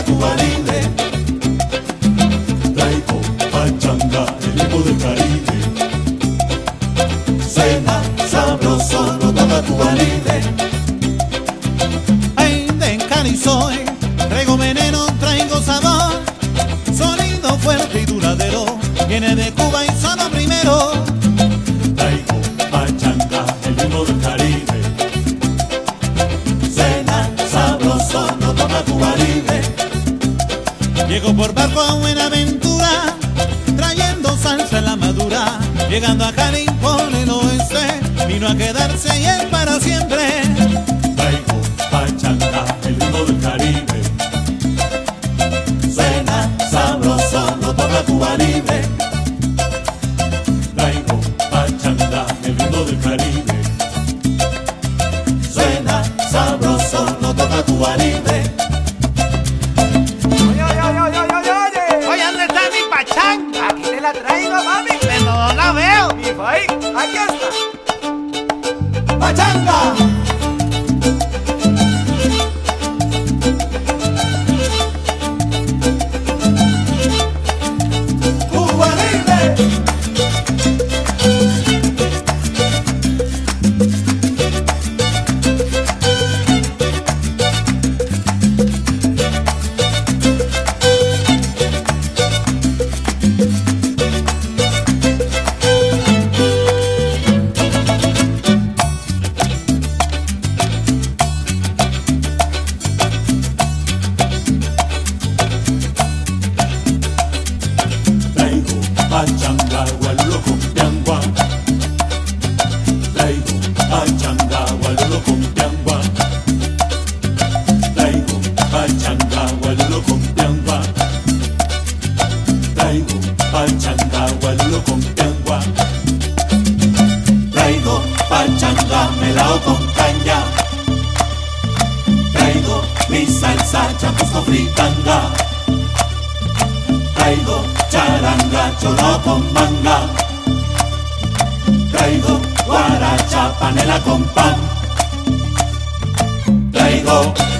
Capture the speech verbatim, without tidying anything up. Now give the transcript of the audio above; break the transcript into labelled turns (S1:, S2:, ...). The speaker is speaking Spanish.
S1: toca Cuba Libre. Traigo pachanga, el ritmo del Caribe. Suena sabroso, lo toca Cuba Libre.
S2: Ay, de Cali soy, traigo veneno, traigo sabor, sonido fuerte y duradero, viene de Cuba y sonó primero.
S1: Traigo pachanga, el ritmo del Caribe. Suena sabroso, lo toca Cuba Libre.
S2: Llego por barco a Buenaventura, trayendo salsa en la madura, llegando a Cali por el oeste, vino a quedarse y es para siempre.
S1: Traigo pachanga, el ritmo del Caribe. Suena sabroso, lo toca Cuba Libre. Traigo pachanga, el ritmo del Caribe. Suena sabroso, lo toca Cuba Libre.
S3: Oye, oye, oye, oye, oye, oye.
S2: Oye, ¿dónde está mi pachanga?
S3: Aquí te la traigo, mami.
S2: Pero no la veo.
S3: Mi país, aquí está.
S1: ¡Pachanga! ¡Cuba Libre! Traigo pachanga, gualulo con piangua. Traigo pachanga, gualulo con piangua. Traigo pachanga, gualulo con piangua. Traigo pachanga, gualulo con piangua. Traigo pachanga, melao con caña. Traigo mi salsa, champusco fritanga. Traigo charanga, cholo con manga. Traigo guaracha, panela con pan. Traigo